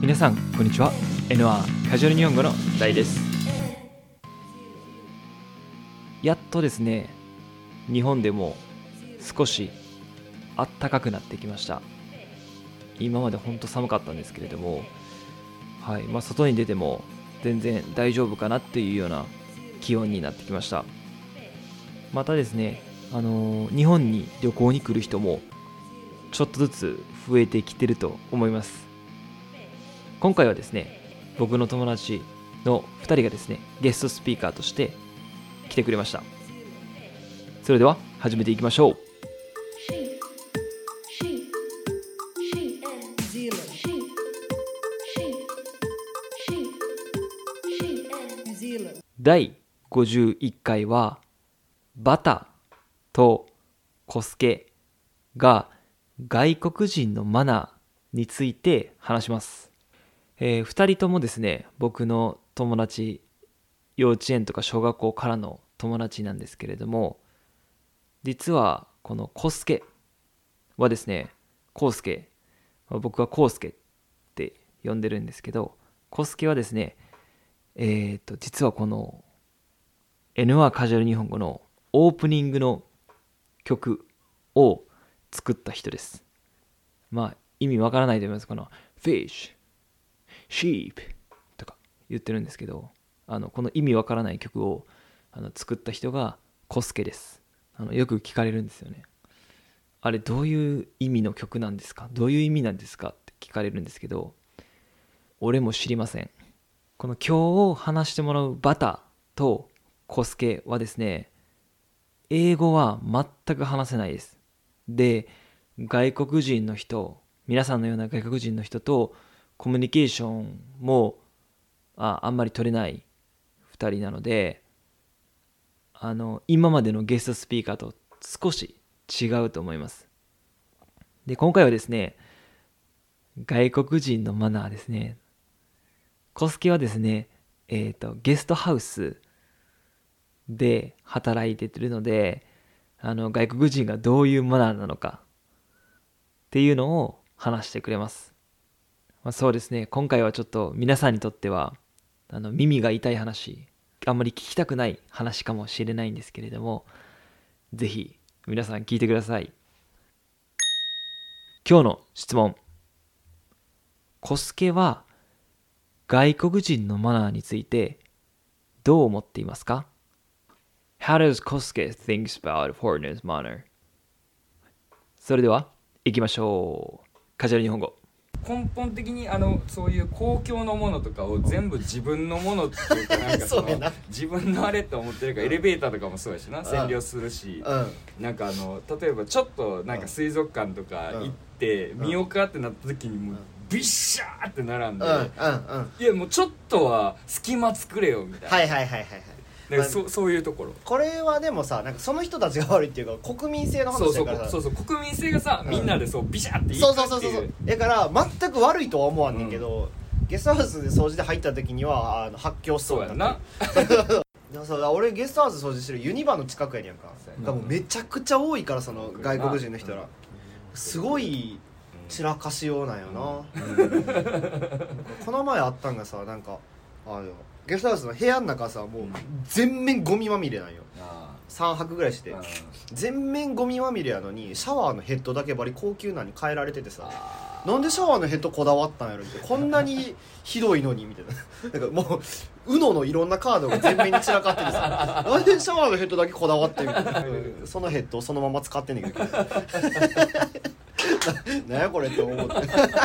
皆さんこんにちは。 N1 カジュアル日本語の大です。やっとですね、日本でも少し暖かくなってきました。今までほんと寒かったんですけれども、外に出ても全然大丈夫かなっていうような気温になってきました。またですね、日本に旅行に来る人もちょっとずつ増えてきてると思います。今回はですね、僕の友達の2人がですね、ゲストスピーカーとして来てくれました。それでは始めていきましょう。第51回はバタとコスケが外国人のマナーについて話します。2人ともですね、僕の友達、幼稚園とか小学校からの友達なんですけれども、実はこのコスケはですね、コウスケ、僕はコウスケって呼んでるんですけど、コスケはですね、実はこの N1 カジュアル日本語のオープニングの曲を作った人です。意味わからないと思います。この Fish、Sheep とか言ってるんですけど、この意味わからない曲を作った人がコスケです。よく聞かれるんですよね。あれどういう意味の曲なんですか？どういう意味なんですかって聞かれるんですけど、俺も知りません。この今日話してもらうバタとコスケはですね、英語は全く話せないです。で、外国人の人、皆さんのような外国人の人とコミュニケーションもあんまり取れない2人なので、今までのゲストスピーカーと少し違うと思います。で、今回はですね、外国人のマナーですね。コスケはですね、ゲストハウスで働いているので、外国人がどういうマナーなのかっていうのを話してくれます。そうですね、今回はちょっと皆さんにとっては耳が痛い話、あんまり聞きたくない話かもしれないんですけれども、ぜひ皆さん聞いてください。今日の質問。コスケは外国人のマナーについてどう思っていますか？ How does Kosuke think about foreigners' manner? それでは行きましょう。カジュアル日本語。 根本的にそういう公共のものとかを全部自分のものっていうか、なんかそうな自分のあれって思ってるから、エレベーターとかもそうやしな、占領するし、なんか例えばちょっとなんか水族館とか行って見ようかってなった時にもうビッシャーって並んで、いやもうちょっとは隙間作れよみたいな。 はいなんかそういうところ。 これはでもさ、なんかその人たちが悪いっていうか国民性の話だからさ、 そう国民性がさ、みんなでそうビシャっていくっていう。 そうだから全く悪いとは思わんねんけど、ゲストハウスで掃除で入った時には発狂しそうやな。 そうだ、俺ゲストハウス掃除してるユニバの近くやねんか。だからもうめちゃくちゃ多いから、その外国人の人らすごい散らかしようなんよな。この前あったんがさ、なんかゲストハウスの部屋の中さ、もう全面ゴミまみれなんよ。3泊ぐらいして全面ゴミまみれやのに、シャワーのヘッドだけバリ高級なのに変えられててさ、なんでシャワーのヘッドこだわったんやろって、こんなにひどいのにみたいな。なんかもうUNOのいろんなカードが全面に散らかっててさ、なんでシャワーのヘッドだけこだわってみたいな。そのヘッドをそのまま使ってんねんけどなんやこれって思って。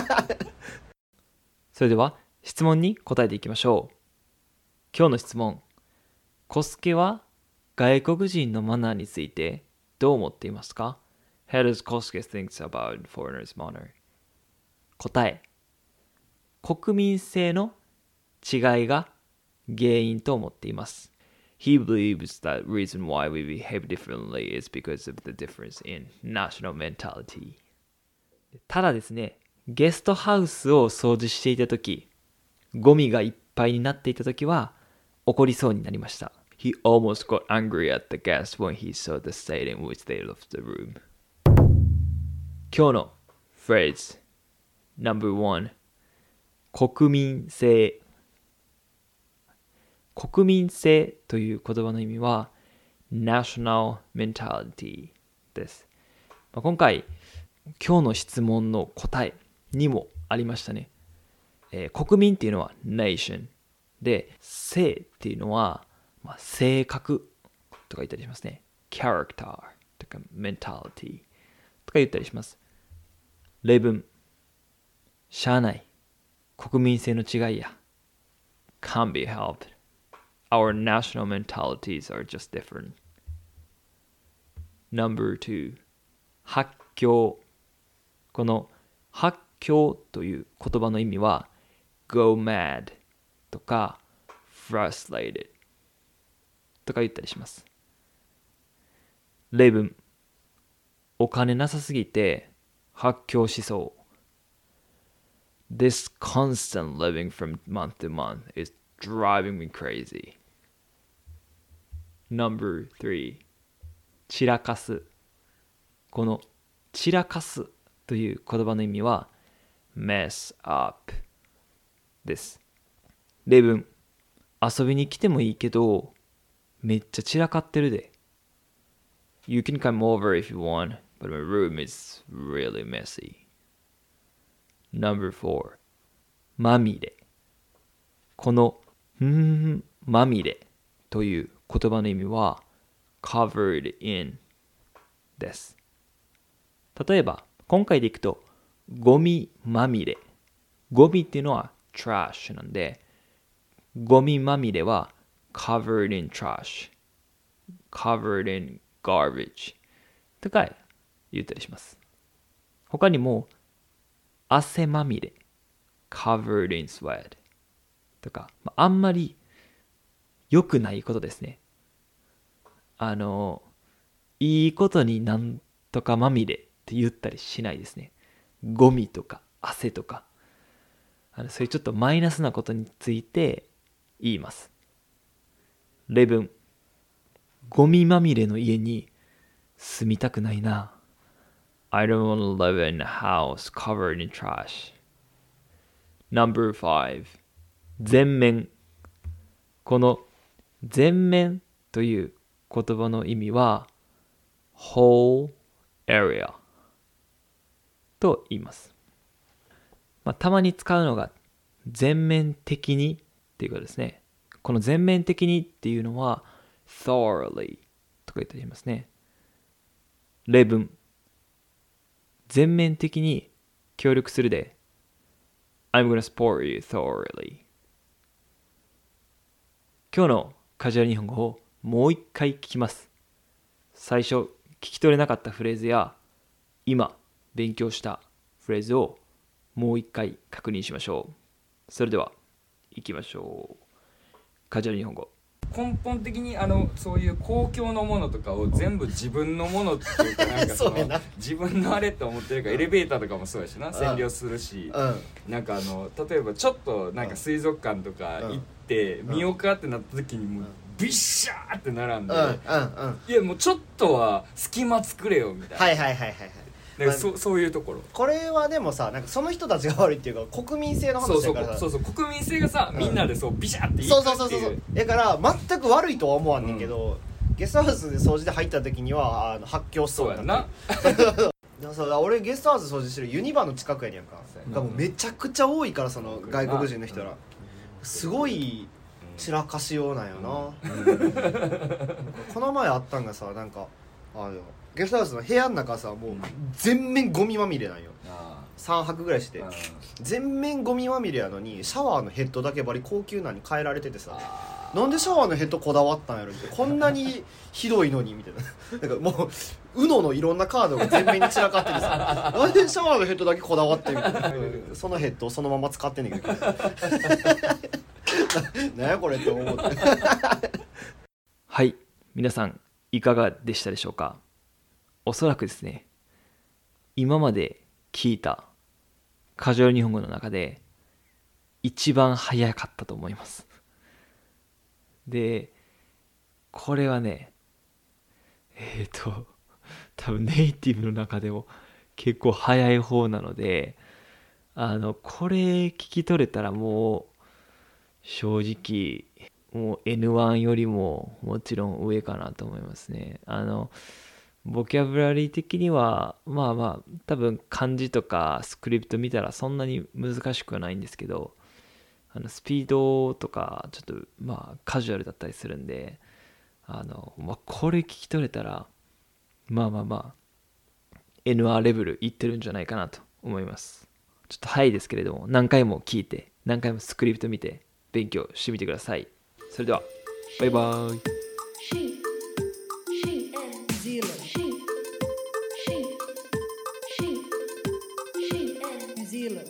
それでは質問に答えていきましょう。今日の質問。コスケは外国人のマナーについてどう思っていますか？ How does Kosuke think about foreigners' manner? 答え。国民性の違いが原因と思っています。He believes that reason why we behave differently is because of the difference in national mentality. ただですね、ゲストハウスを掃除していたとき、ゴミがいっぱいになっていたときは怒りそうになりました。He almost got angry at the guests when he saw the state in which they left the room. 今日のフレーズ No.1 国民性。国民性という言葉の意味は national mentality です。今回、今日の質問の答えにもありましたね。国民っていうのは nation で、性っていうのは、性格とか言ったりしますね。character とか mentality とか言ったりします。例文。しゃあない。国民性の違いや。Can't be helped. Our national mentalities are just different. Number 2. 発狂。この発狂という言葉の意味は go mad とか frustrated とか言ったりします。例文。お金なさすぎて発狂しそう。This constant living from month to month is driving me crazy. Number 3. 散らかす。この散らかすという言葉の意味は mess up です。例文。遊びに来てもいいけど、めっちゃ散らかってるで。You can come over if you want, but my room is really messy. Number 4. まみれ。このまみれという言葉の意味は covered in です。例えば、今回でいくと、ゴミまみれ。ゴミっていうのは trash なんで、ゴミまみれは covered in trash, covered in garbage とか言ったりします。他にも、汗まみれ covered in sweat とか、あんまり良くないことですね。いいことになんとかまみれって言ったりしないですね。ゴミとか汗とか、そういうちょっとマイナスなことについて言います。例文。ゴミまみれの家に住みたくないな。I don't want to live in a house covered in trash. Number 5. 全面。この全面という言葉の意味は whole area と言います。たまに使うのが全面的にっていうことですね。この全面的にっていうのは thoroughly とか言ったりしますね。例文。全面的に協力するで。I'm gonna support you thoroughly. 今日のカジュアル日本語をもう一回聞きます。最初聞き取れなかったフレーズや今勉強したフレーズをもう一回確認しましょう。それでは行きましょう。カジュアル日本語。 根本的にそういう公共のものとかを全部自分のものっていうかなんか自分のあれって思ってるからエレベーターとかもそうやしな、占領するし、なんか例えばちょっとなんか水族館とか行って見ようかってなった時にもうビッシャーって並んで、いやもうちょっとは隙間作れよみたいな。はいそういうところ。 これはでもさ、なんかその人たちが悪いっていうか国民性の話だからさ、 そう国民性がさ、みんなでそうビシャっていくっていう。 そうだから全く悪いとは思わんねんけど、ゲストハウスで掃除で入った時には発狂しそうやな。俺ゲストハウス掃除してるユニバの近くやねんか。もうめちゃくちゃ多いから、その外国人の人らすごい散らかしようなんよな。この前あったんがさ、なんかゲストハウスの部屋の中さ、もう全面ゴミまみれなんよ。3泊ぐらいして全面ゴミまみれやのに、シャワーのヘッドだけバリ高級なに変えられててさ、なんでシャワーのヘッドこだわったんやろって、こんなにひどいのにみたいな。なんかもうUNOのいろんなカードが全面に散らかっててさ、なんでシャワーのヘッドだけこだわってみたいな。そのヘッドをそのまま使ってんねんけどなんやこれって思ってはい、皆さんいかがでしたでしょうか。おそらくですね、今まで聞いたカジュアル日本語の中で一番早かったと思います。で、これはね、多分ネイティブの中でも結構早い方なので、 これ聞き取れたらもう正直もう N1 よりももちろん上かなと思いますね。ボキャブラリー的にはまあまあ多分漢字とかスクリプト見たらそんなに難しくはないんですけど、スピードとかちょっとまあカジュアルだったりするんで、これ聞き取れたらまあまあまあ N1 レベルいってるんじゃないかなと思います。ちょっと早いですけれども、何回も聞いて何回もスクリプト見て勉強してみてください。それではバイバーイ。